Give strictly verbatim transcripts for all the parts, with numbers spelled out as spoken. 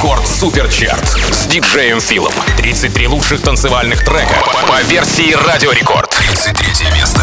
Рекорд Суперчарт с диджеем Филом. тридцать три лучших танцевальных трека по версии Радио Рекорд. тридцать третье место.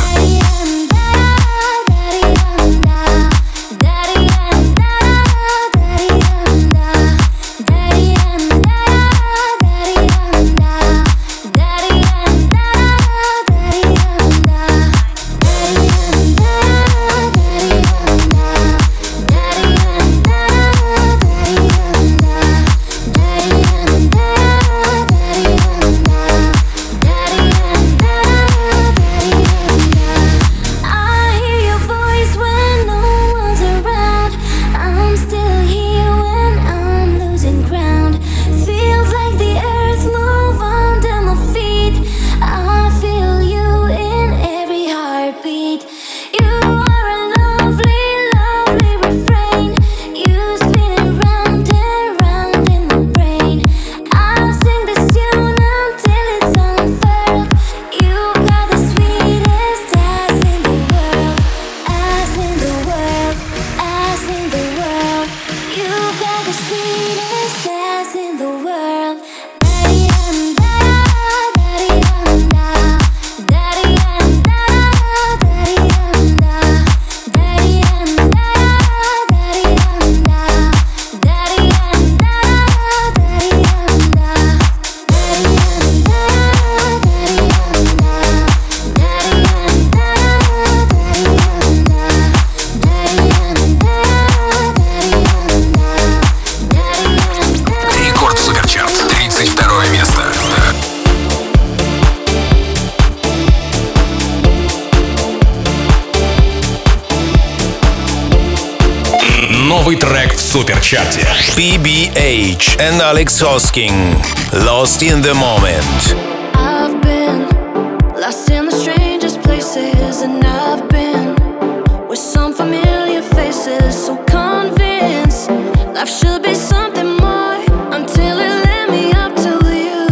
Новый трек в Суперчарте. пи би эйч and Alex Hosking. Lost in the moment. I've been lost in the strangest places, and I've been with some familiar faces. So convinced life should be something more until it led me up to you.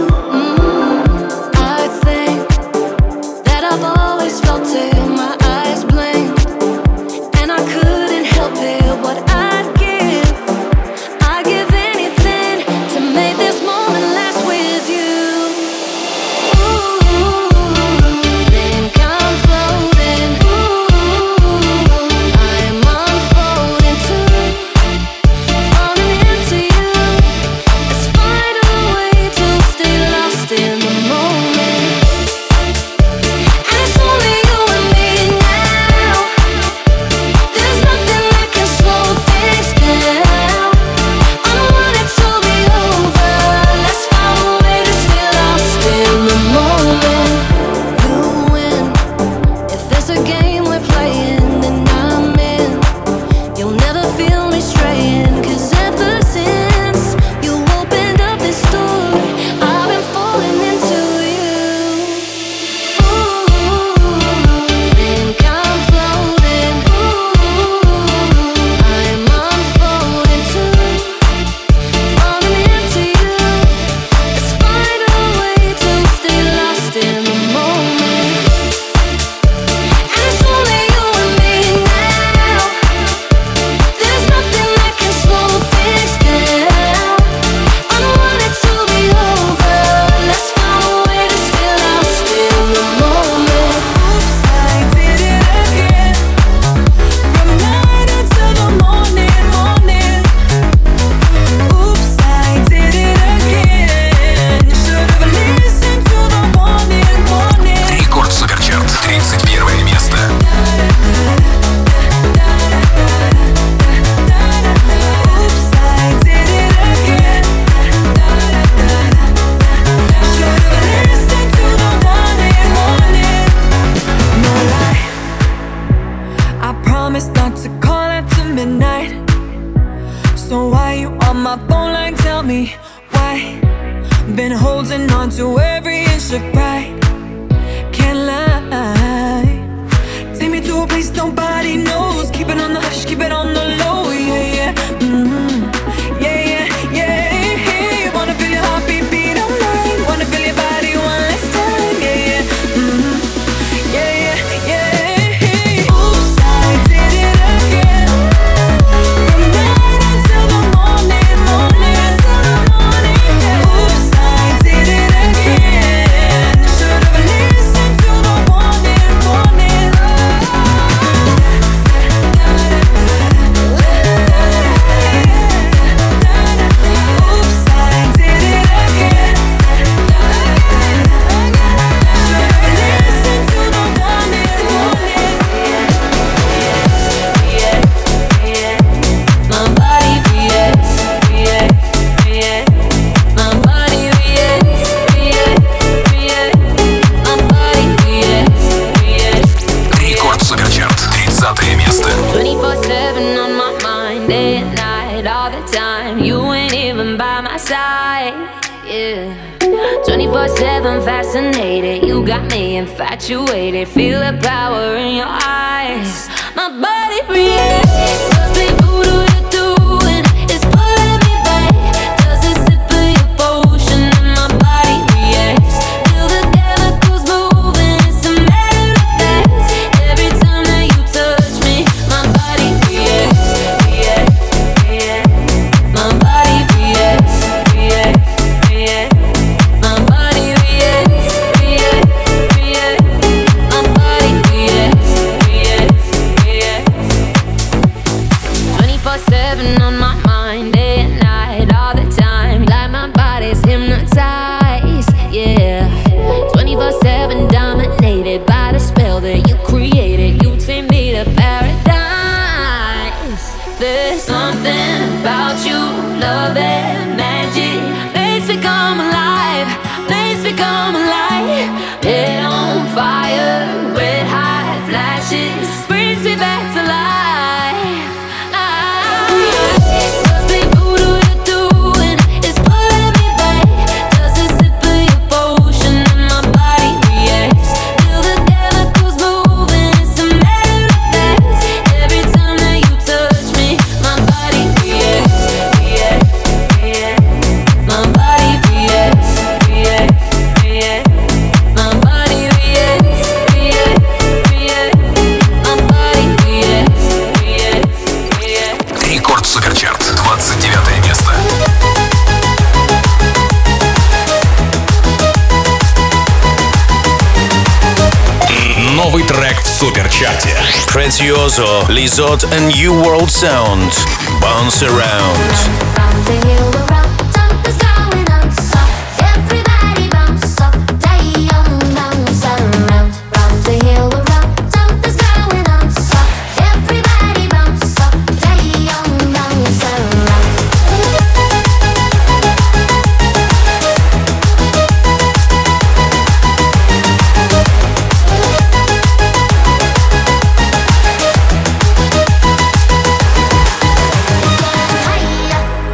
Mm. I think that I've always felt it. My eyes blinked and I couldn't help it. What I'd give, I'd give anything to make this moment last with you. Ooh, think I'm floating. Ooh, I'm unfolding too, falling into you. Let's find a way to stay lost in the moment. And it's only you and me now. There's nothing that can slow things down. I don't want it to be over. Let's find a way to stay lost in the moment. You win. If there's a game we're playing, then I'm in. You'll never feel me straying, 'cause ever since you opened up this door, I've been falling into you. Ooh, think I'm floating. Ooh, I'm unfolding too, falling into you. Let's find a way to stay lost in the moment. And it's only you and me now. There's nothing that can slow things down. I don't want it to be over. Let's find a way to stay lost in the moment. Oops, I did it again. From night until the morning, morning. Oops, I did it again. Should've listened to the warning, warning. Рекорд Суперчарт. тридцать первое место. Oops, I did it again. Should've listened to the warning, warning. No lie, I promise not to call after midnight. So why you on my phone line? Tell me why. Been holding on to every inch of pride. Can't lie. Take me to a place nobody knows. Keep it on the hush, keep it on the low. Yeah, yeah. Mm-hmm. Yeah, yeah, yeah. Wanna feel your heartbeat beat on mine. Wanna feel your body one last time. Yeah, yeah. Mm-hmm. Yeah, yeah, yeah. Oops, I did it again. From night until the morning, morning. hypnotized, yeah. twenty-four seven fascinated, you got me infatuated. Feel the power in your eyes, my body reacts. Must be voodoo you're doing, it's pulling me back. Does a sip of your potion and my body reacts. Feel the chemicals moving, it's a matter of fact. Every time that you touch me, my body reacts, reacts, reacts. My body reacts, reacts, reacts. My body reacts, reacts, reacts. My body reacts, reacts, reacts. twenty-four seven on my mind, day and night, all the time. Like my body's hypnotized, yeah. twenty-four seven dominated by the spell that you created. You take me to paradise. There's something about you, love and magic. Makes me come alive, makes me come alive. Head on fire, red hot flashes, brings me back to life. Must be voodoo you're doing, it's pulling me back. Does a sip of your potion and my body reacts. Feel the chemicals moving, it's a matter of fact. Every time that you touch me, my body reacts, reacts, reacts. My body reacts, reacts, reacts. My body reacts, reacts, reacts. My body reacts, reacts, reacts. Рекорд Суперчарт, двадцать девятое место. Новый трек в Суперчарте. Prezioso, Lizot and New World Sound. Bounce around. Round the hill, around, something's going on. So everybody bounce up, day on, bounce around. Round the hill, around, something's going on. So everybody bounce up, day on, bounce around. Higher,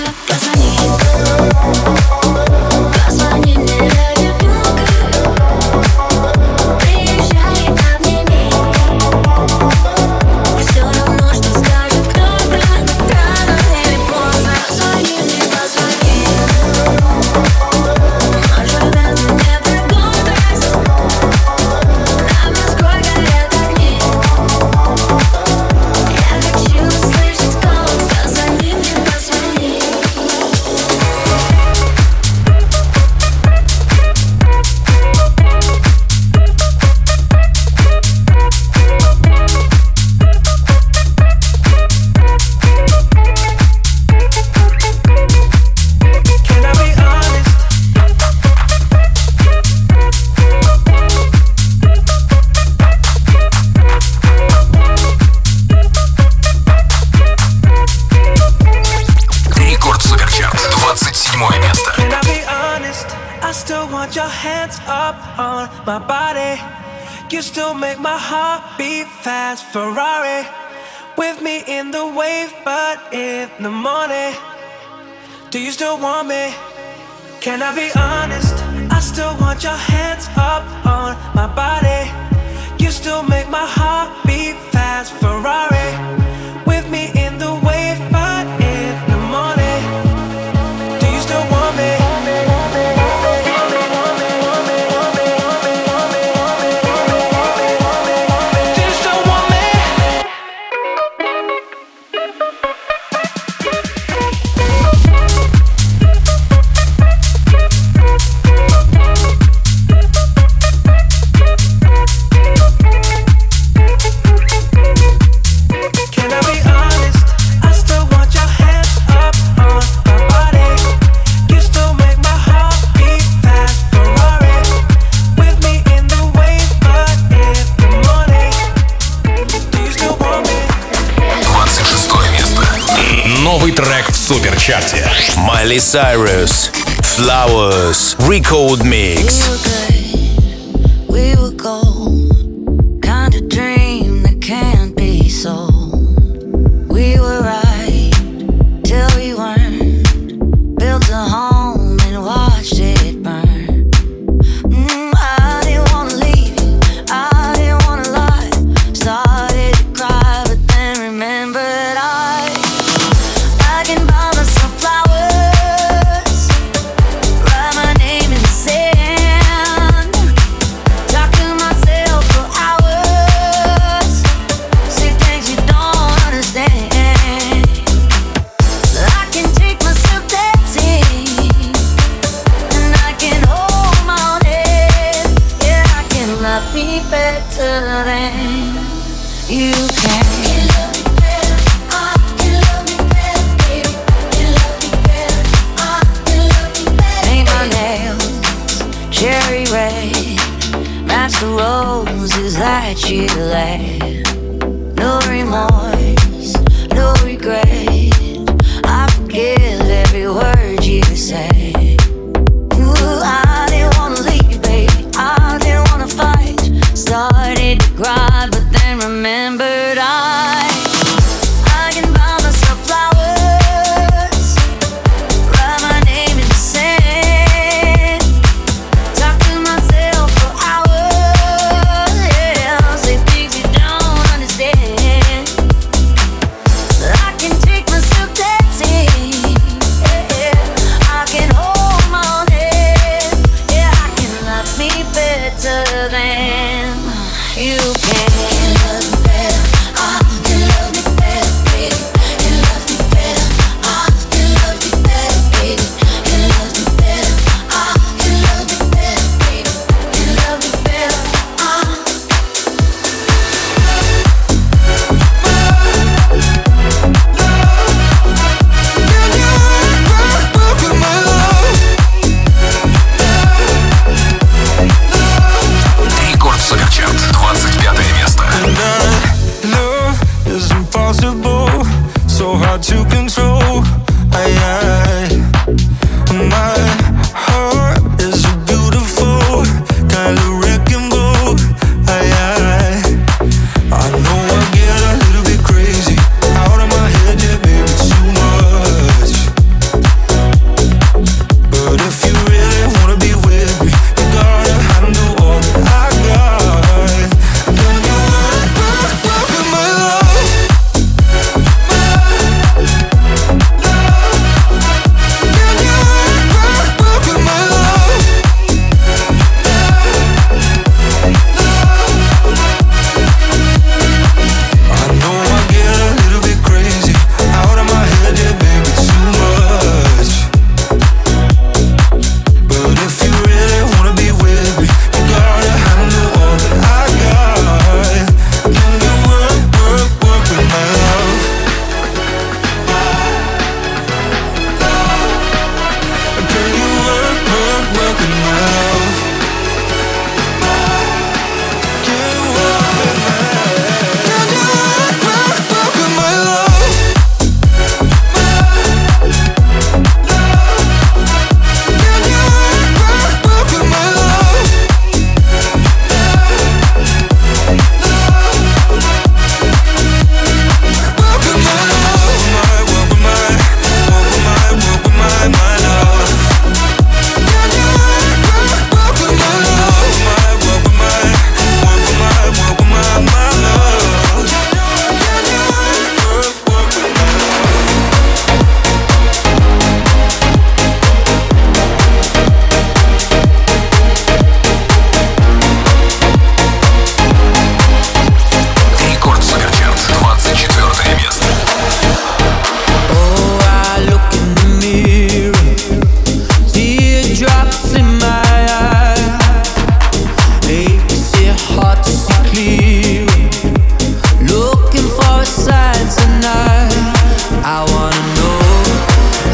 You still make my heart beat fast. Ferrari with me in the wave, but in the morning, do you still want me? Can I be honest? I still want your hands up on my body. You still make my heart beat fast. Ferrari with me in the wave, but in the morning, do you still want me? Новый трек в суперчарте. Miley Cyrus, Flowers, Record Mix. We were gold, kind of dream that can't be sold. We were right till we weren't. Built a home and watched it burn. Mm, I didn't wanna leave you, I didn't wanna lie. Started to cry, but then remembered I I can buy myself flowers, write my name in the sand, talk to myself for hours, say things you don't understand. I can take myself dancing, and I can hold my own head. Yeah, I can love me better than you can. Cherry red, match the roses that you left. No remorse, no regret. I forgive every word you say. Ooh, I didn't wanna leave, baby. I didn't wanna fight. Started to cry, but then remembered I I can buy myself flowers, write my name in the sand, talk to myself for hours, yeah, say things you don't understand. I can take my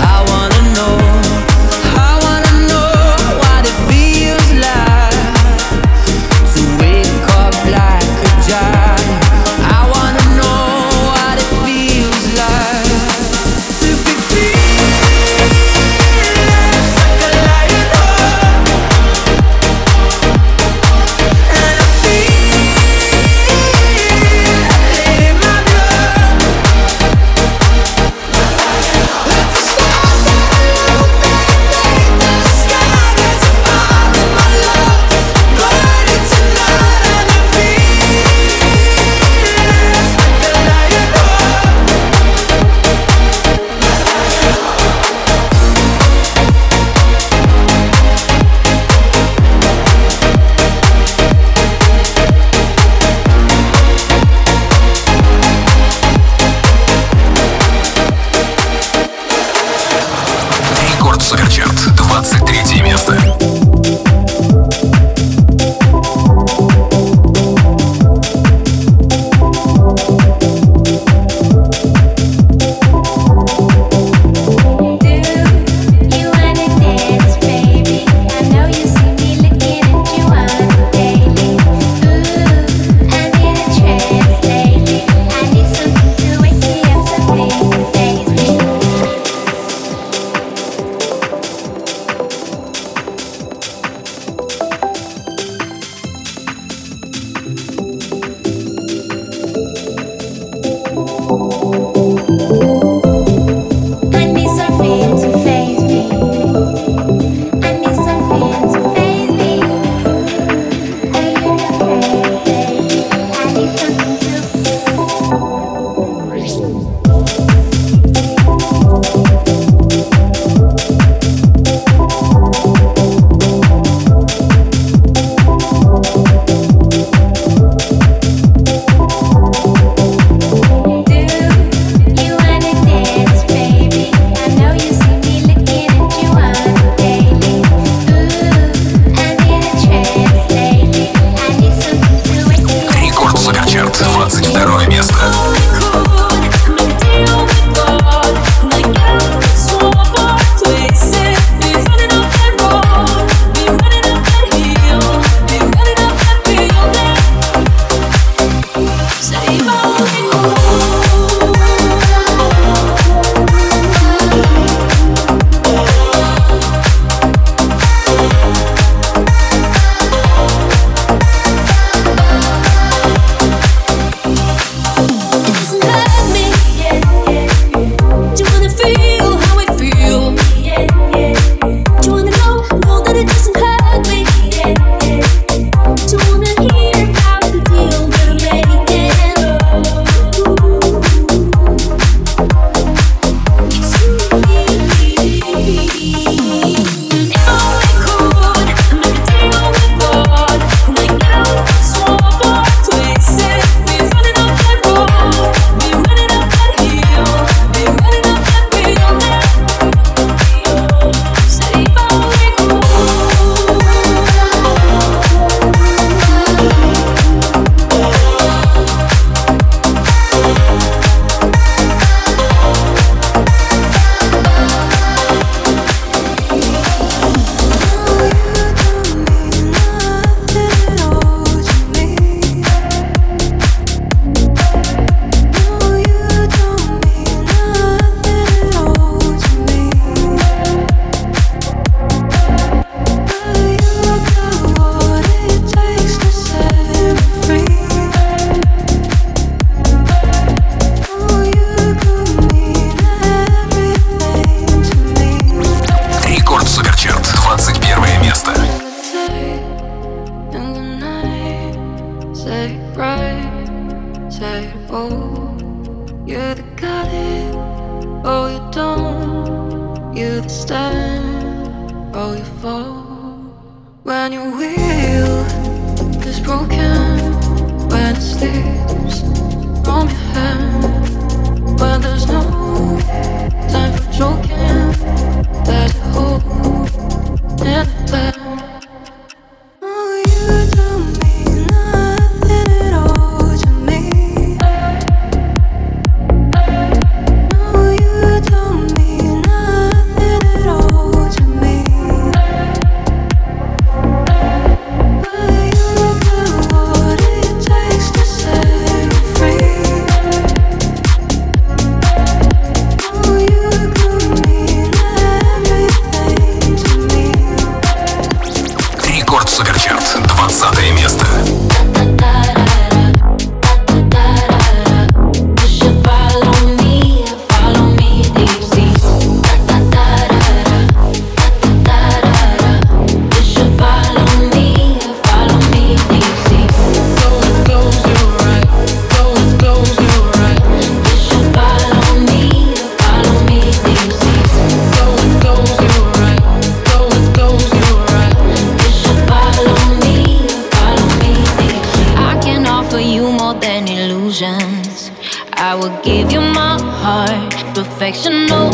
Nothing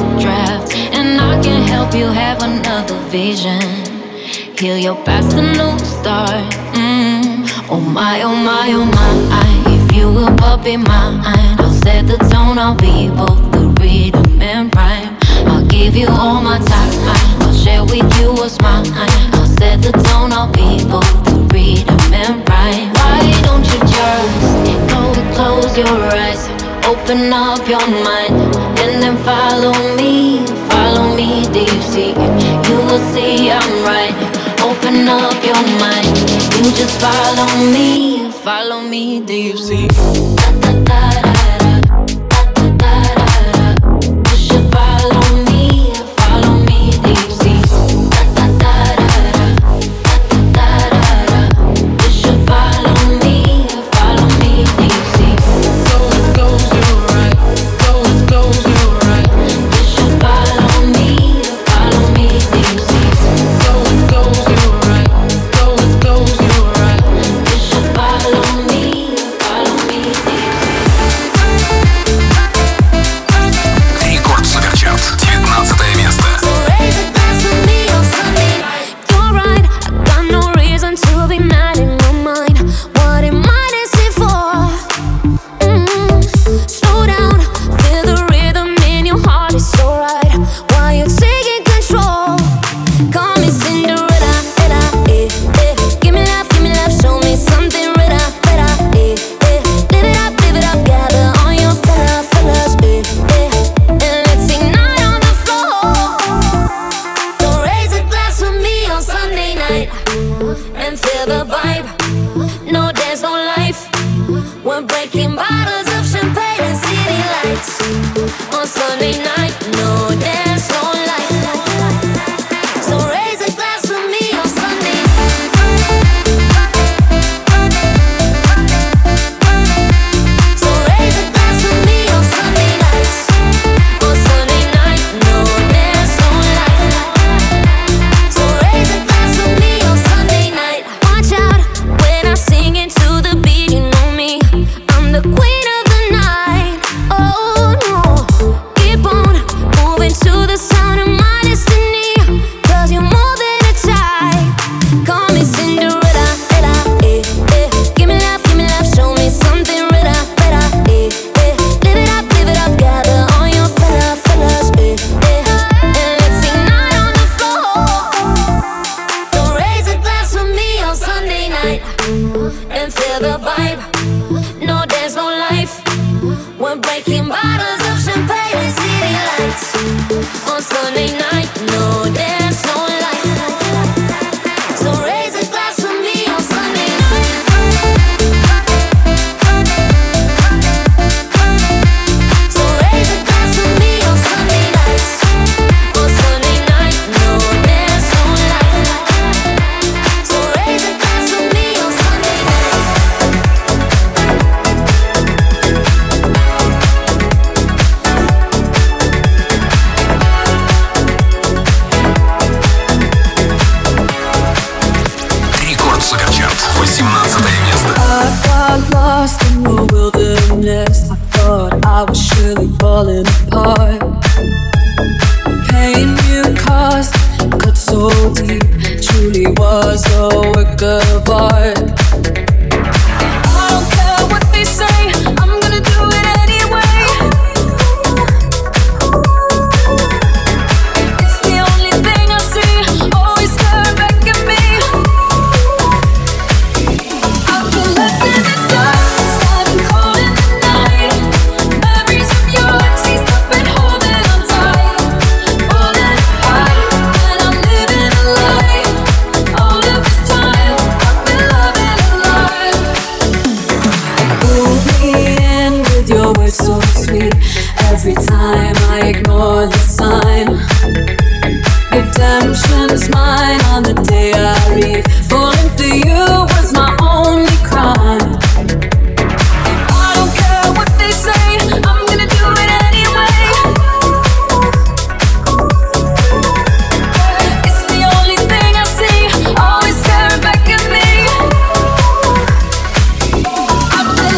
draft, and I can help you have another vision. Heal your past, a new start. Mm. Oh my, oh my, oh my. If you will but be mine, I'll set the tone. I'll be both the rhythm and rhyme. I'll give you all my time. I'll share with you what's mine. I'll set the tone. I'll be both the rhythm and rhyme. Why don't you just go and close your eyes, open up your mind, and then follow me, follow me, do you see? You will see I'm right. Open up your mind, you just follow me, follow me, do you see? Da, da, da, da.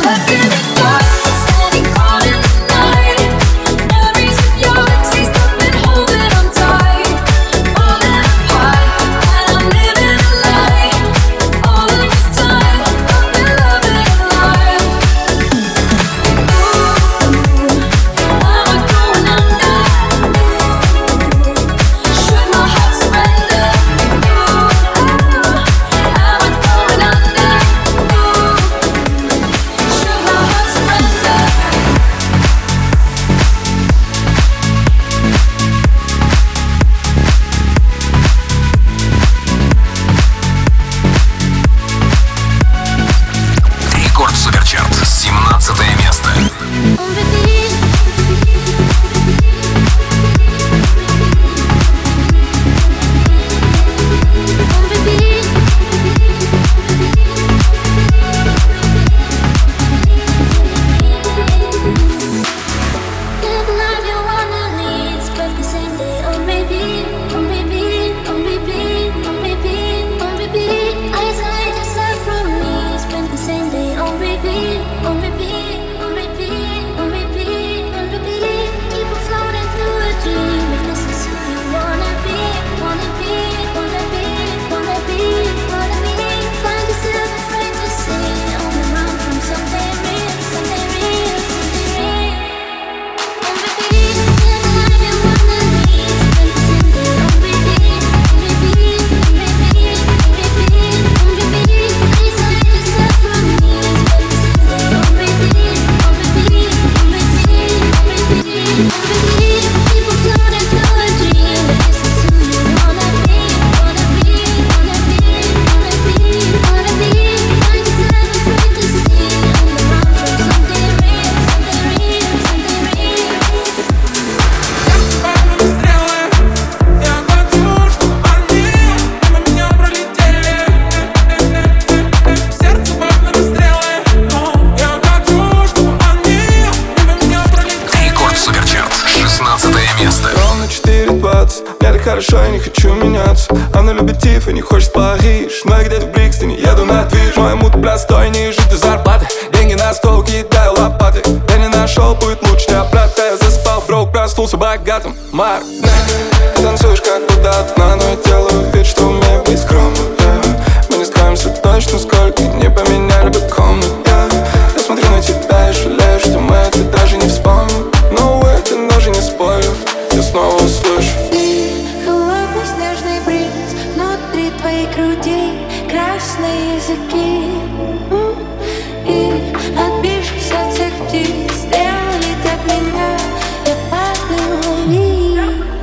Standing caught in the night, memories of your нравится. Мне так хорошо, я не хочу меняться. Она любит Тиф и не хочет в Париж. Но я где-то в Брикстоне еду на движ. Мой мут простой, ниже до зарплаты. Деньги на стол, кидаю лопаты. Я не нашел, будет лучше не оплата. Я заспал, брок, проснулся богатым. Марк, ты танцуешь как будто одна, но я делаю вид, что умею быть скромным. Мы не скроемся точно, сколько не поменяли бы комнат. Я смотрю на тебя и жалею, что мы это даже не вспомним. Но это даже не спорю, я снова услышу. Холодный снежный бриз внутри твоей груди, красные языки. М, И отбившись от всех птиц, сделали так меня, я падаю вниз.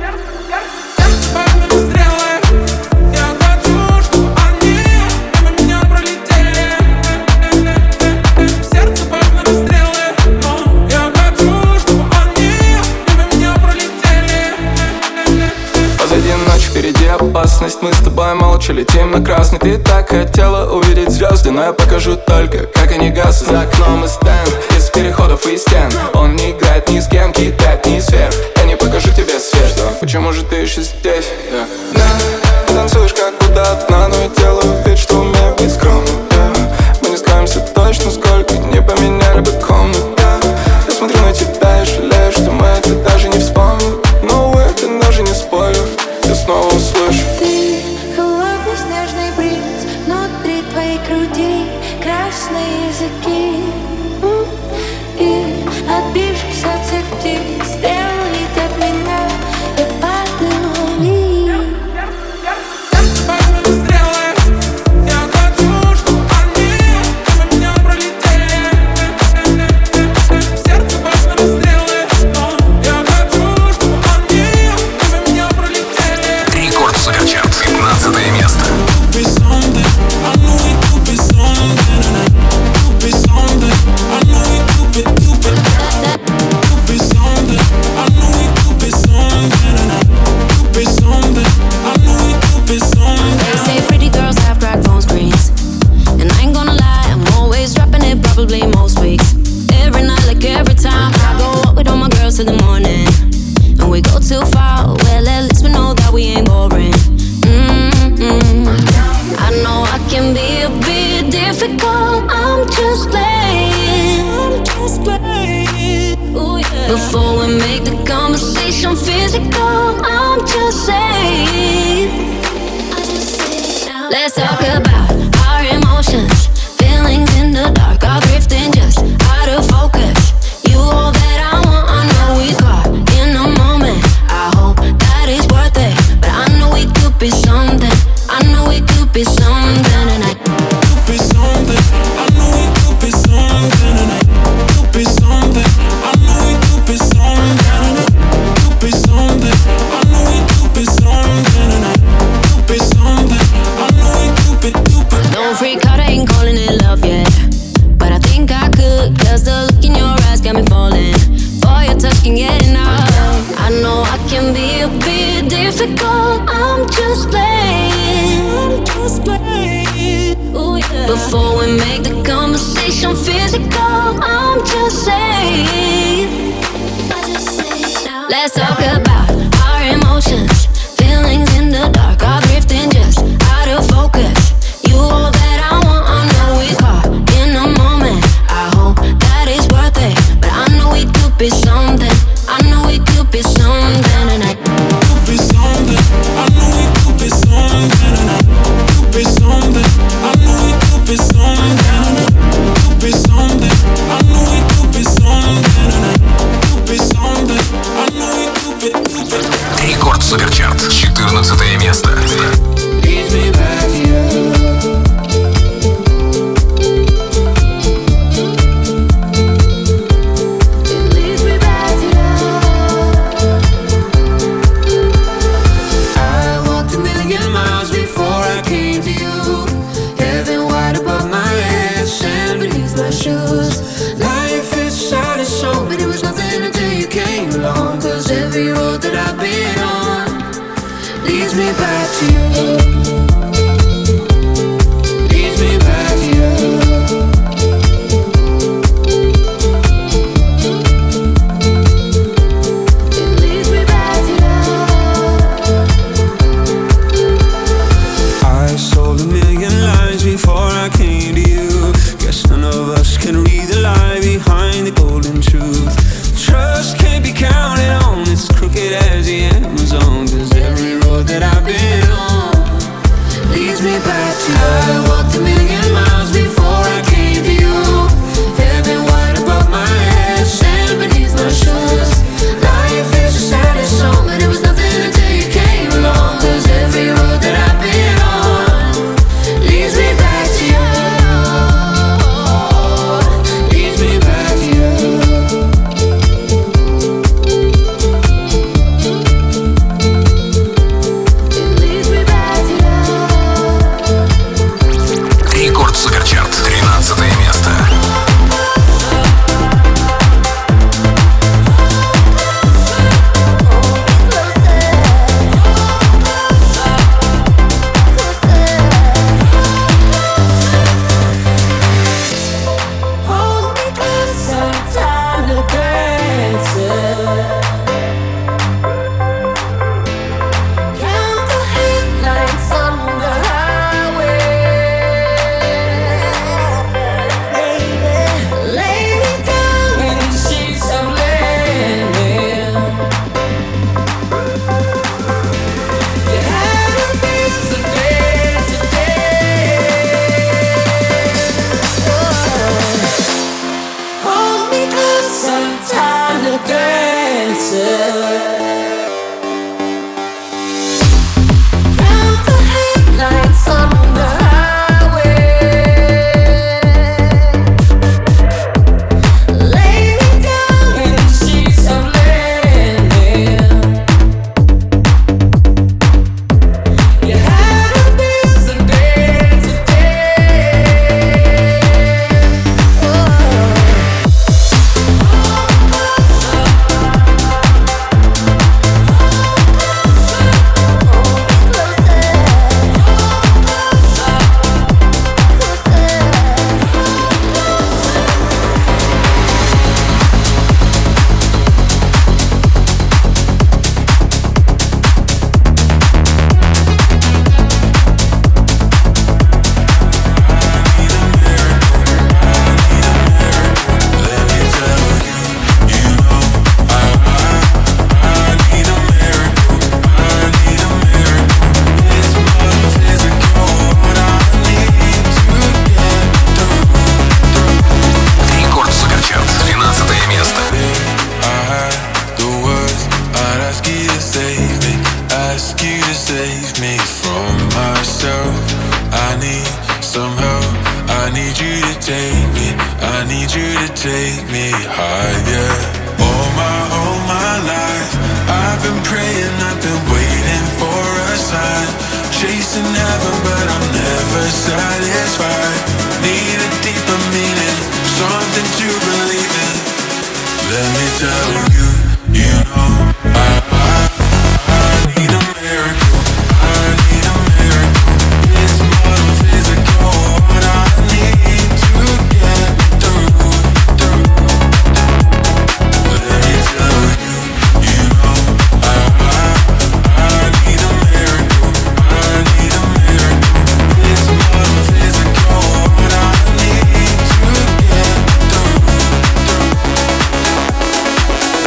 Впереди опасность, мы с тобой молча летим на красный. Ты так хотела увидеть звезды, но я покажу только, как они гаснут. За окном и стенд, из переходов и стен. Он не играет ни с кем, кидает ни сверх. Я не покажу тебе свет, да? Почему же ты еще здесь? Yeah. Yeah. Ты танцуешь как будто одна, но я делаю вид, что умею быть скромным. Yeah. Мы не скроемся точно, сколько не поменяли бы комнат. Yeah. Я смотрю на тебя и жалею, что мы это даже не вспомним. Но это даже не спорю, я снова услышу. Ты холодный снежный бриз внутри твоей груди, красные языки. М, И отбившись от всех птиц, сделали так меня, я падаю вниз. Рекорд Суперчарт, пятнадцатое место. They say pretty girls have cracked phone screens, and I ain't gonna lie, I'm always dropping it probably most weeks. Every night, like every time, I go out with all my girls till the morning, and we go too far. Well, at least we know that we ain't boring. Mm-hmm. I know I can be a bit difficult. I'm just playing. I'm just playing. Ooh, yeah. Before we make the conversation physical, I'm just saying. Let's talk about our emotions, feelings in the dark, are drifting just out of focus. You all that I want, I know we caught in a moment. I hope that it's worth it, but I know we could be something. I know we could be something tonight. Could be something. I know we could be something tonight. Could be something. I know we could be something tonight. Could be something. I know we could be something tonight. Could be something. I know we could be, could be. Don't freak out, I ain't calling it love yet, but I think I could, cause the look in your eyes got me falling for your touch, can get enough. I know I can be a bit difficult. I'm just playing. I'm just playing. Ooh, yeah. Before we make the conversation physical, I'm just saying. Let's talk about our emotions, feelings in the dark, are drifting just out of focus. You all that I want, I know we caught in a moment. I hope that it's worth it, but I know we could be something. I know we could be something tonight. Could be something. I know we could be something tonight. Could be something. I know we could be something tonight. Could be something. I know we could be something tonight. Could be something. I know we could be, could be. Рекорд Суперчарт, четырнадцатое место. Leads me back to you. Life is sad and so, but it was nothing until you came along. Cause every road that I've been on leads me back to you. Leads me back to you. It leads me back to you. ask you to save me from myself. I need some help. I need you to take me. I need you to take me higher. All my, all my life I've been praying, I've been waiting for a sign. Chasing heaven but I'm never satisfied. Need a deeper meaning, something to believe in. Let me tell you, you know I, I, I need a miracle. I need a miracle. It's more than physical. What I need to get through, through. Let me tell you, you know I, I, I need a miracle. I need a miracle. It's more than physical. What I need to get through, through.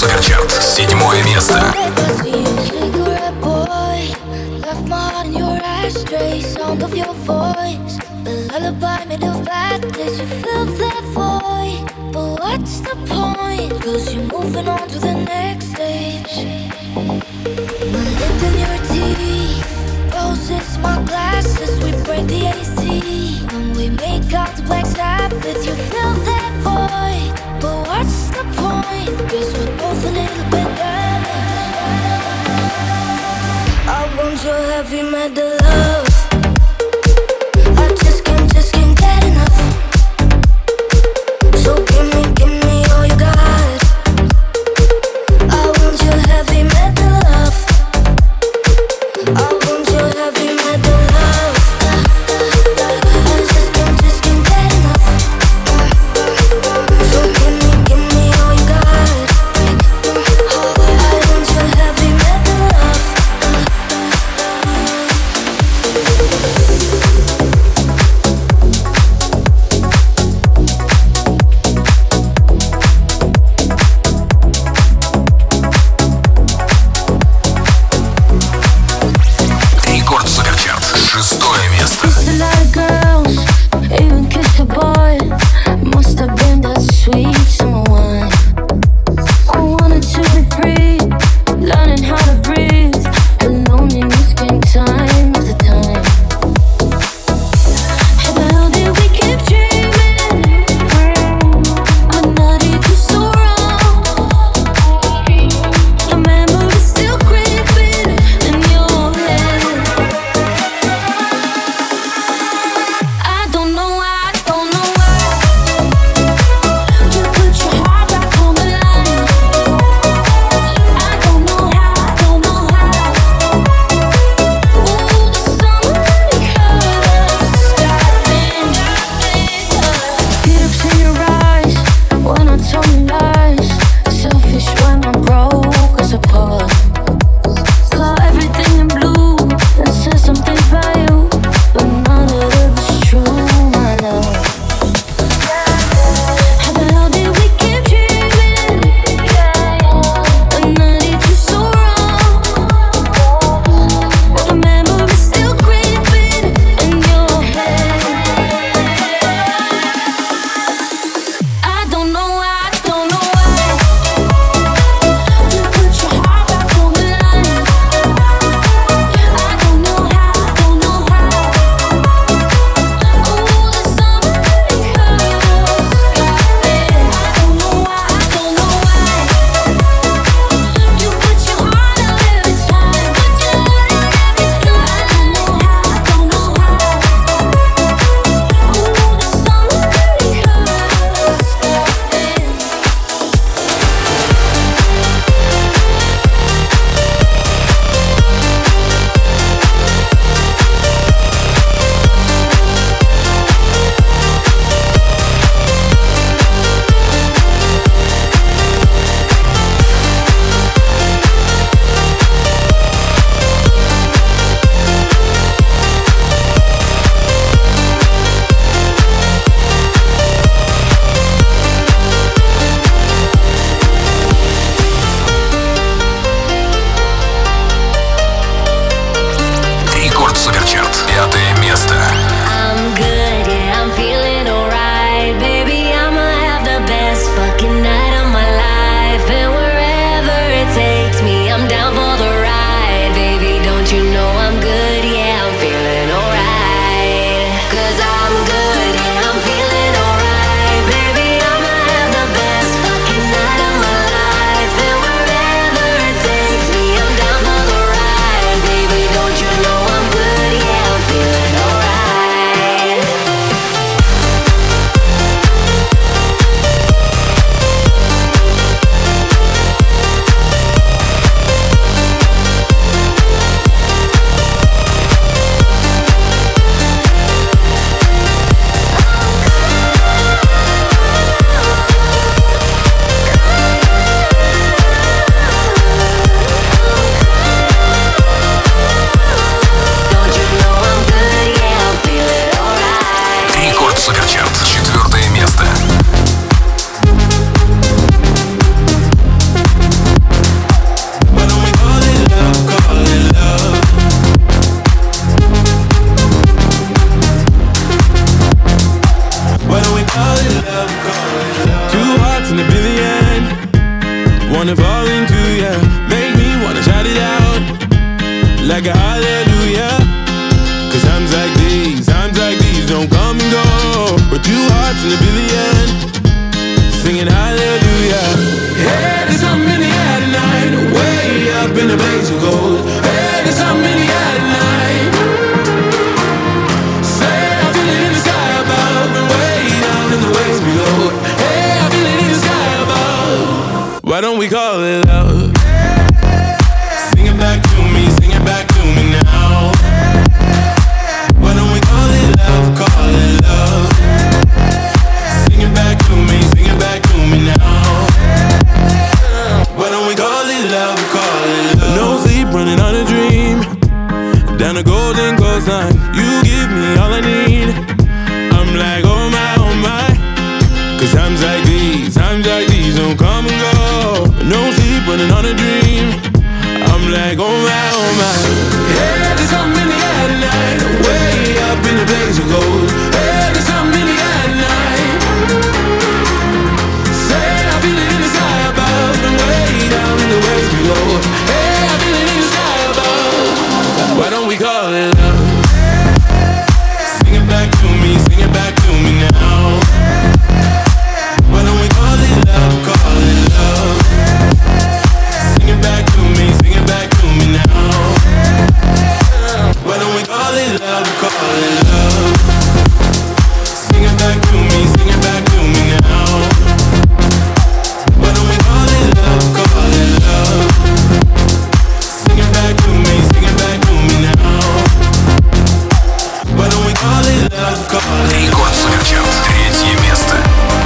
Суперчарт. Седьмое место. Cigarette boy, left my heart in your ashtray. Sound of your voice, the lullaby made of blackness. You fill that void, but what's the point? Cause you're moving on to the next stage. My lip in your teeth, roses, my glasses. We break the A C when we make out the Black Sabbath. You fill that void, but what's the point? Cause we're both a little bit damaged. I want your heavy metal love. I just can't, just can't get enough. So give me, give me all you got. I want your heavy metal love. I want your heavy metal love. I just can't, just can't get enough. So give me, give me all you got. I want your heavy metal love. wanna fall into ya. Make me wanna shout it out like a hallelujah. Cause times like these, times like these don't come and go. We're two hearts in a billion, singing hallelujah. Hey, there's something in the air tonight, way up in the blaze of gold. Hey, there's something in the air tonight. Say I feel it in the sky above and way down in the waves below. Hey, I feel it in the sky above. Why don't we call it love? Sing it back to me, sing it back to me now. Why don't we call it love, call it love? Sing it back to me, sing it back to me now. Why don't we call it love, call it love? No sleep, running on a dream. Down the golden coastline, you give me all I need. I'm like, oh my, oh my. Cause times like these, times like these don't come and go. No sleep, running on a dream. I'm like, oh my, oh my. Yeah, there's something in the air tonight, way up in the blaze of gold. Yeah, there's something in the air tonight. Say I feel it in the sky above and way down in the waves below. Hey, I feel it in the sky above. Why don't we call it love? Sing it back to me, sing it back to me now. Why don't we call it love, call it love? Sing it back to me, sing it back to me now. Why don't we call it love, call it love? Sing it back to me, sing it back to me now. Why don't we call it love, call it love? Sing it back to me, sing it back to me now. Why don't we call it love, call it love? Рекорд Суперчарт, третье место.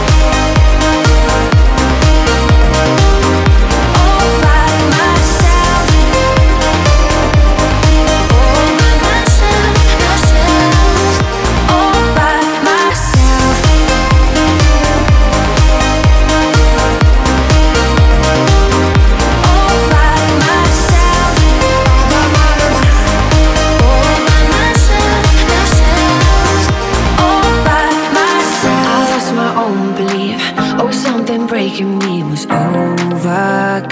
Breaking me was overcome.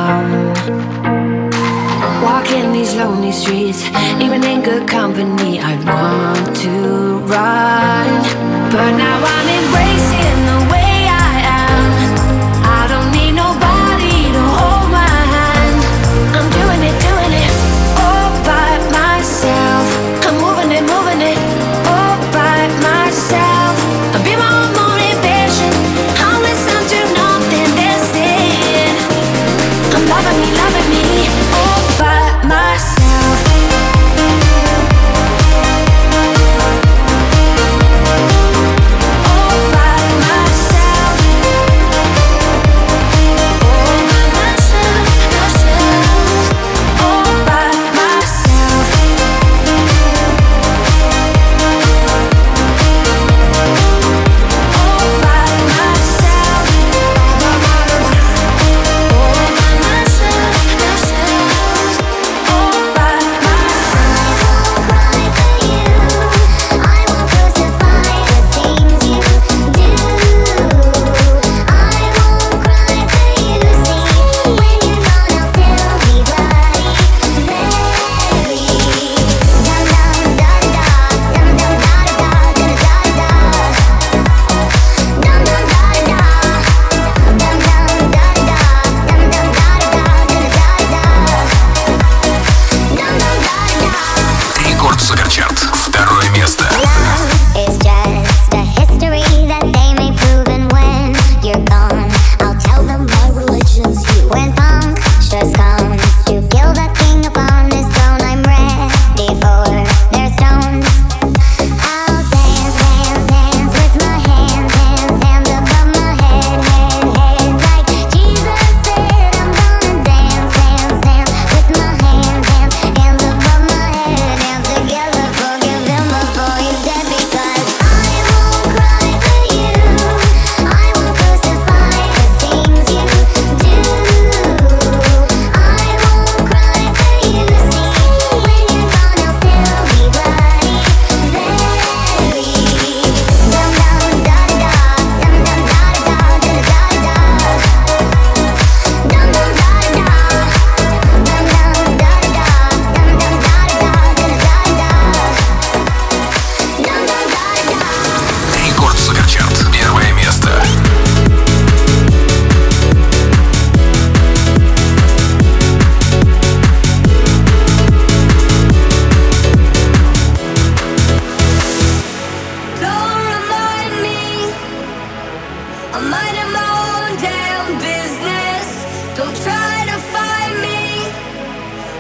Walking these lonely streets, even in good company, I'd want to run. But now I'm embracing the way I am. I don't need nobody to hold my hand. I'm doing it, doing it, all by myself. I'm moving it, moving it, all by myself. I'll be my own motivation. I'll listen to nothing they're saying. I'm loving me, loving me, all by myself. All by myself. All by myself, myself. All by myself. All by myself. All by myself,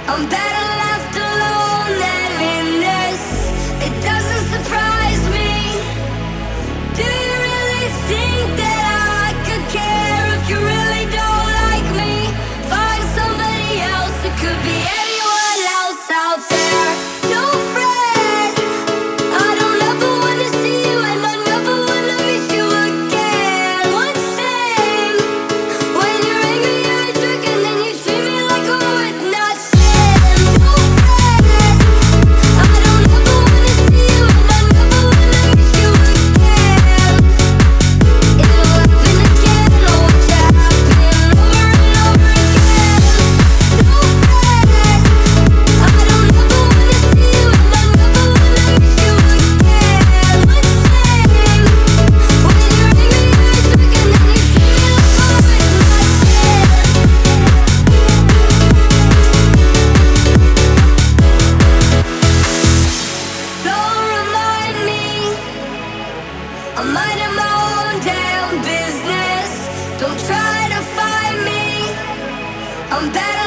I'm better left alone than in this. It doesn't surprise me. Do you really think that I could care if you really don't like me? Find somebody else, it could be anyone else out there. Don't fret, I don't ever wanna see you and I never wanna miss you again. One thing, when you're angry you're a jerk and then you treat me like I'm worth nothing. Don't fret, I don't ever wanna see you and I never wanna miss you again. It'll happen again, oh watch it happen over and over again. Don't fret, I don't ever wanna see you and I never wanna miss you again. One thing, when you're angry you're a jerk and then you treat me like I'm worth nothing. Don't remind me, I'm minding my own damn business. Don't try to find me, I'm better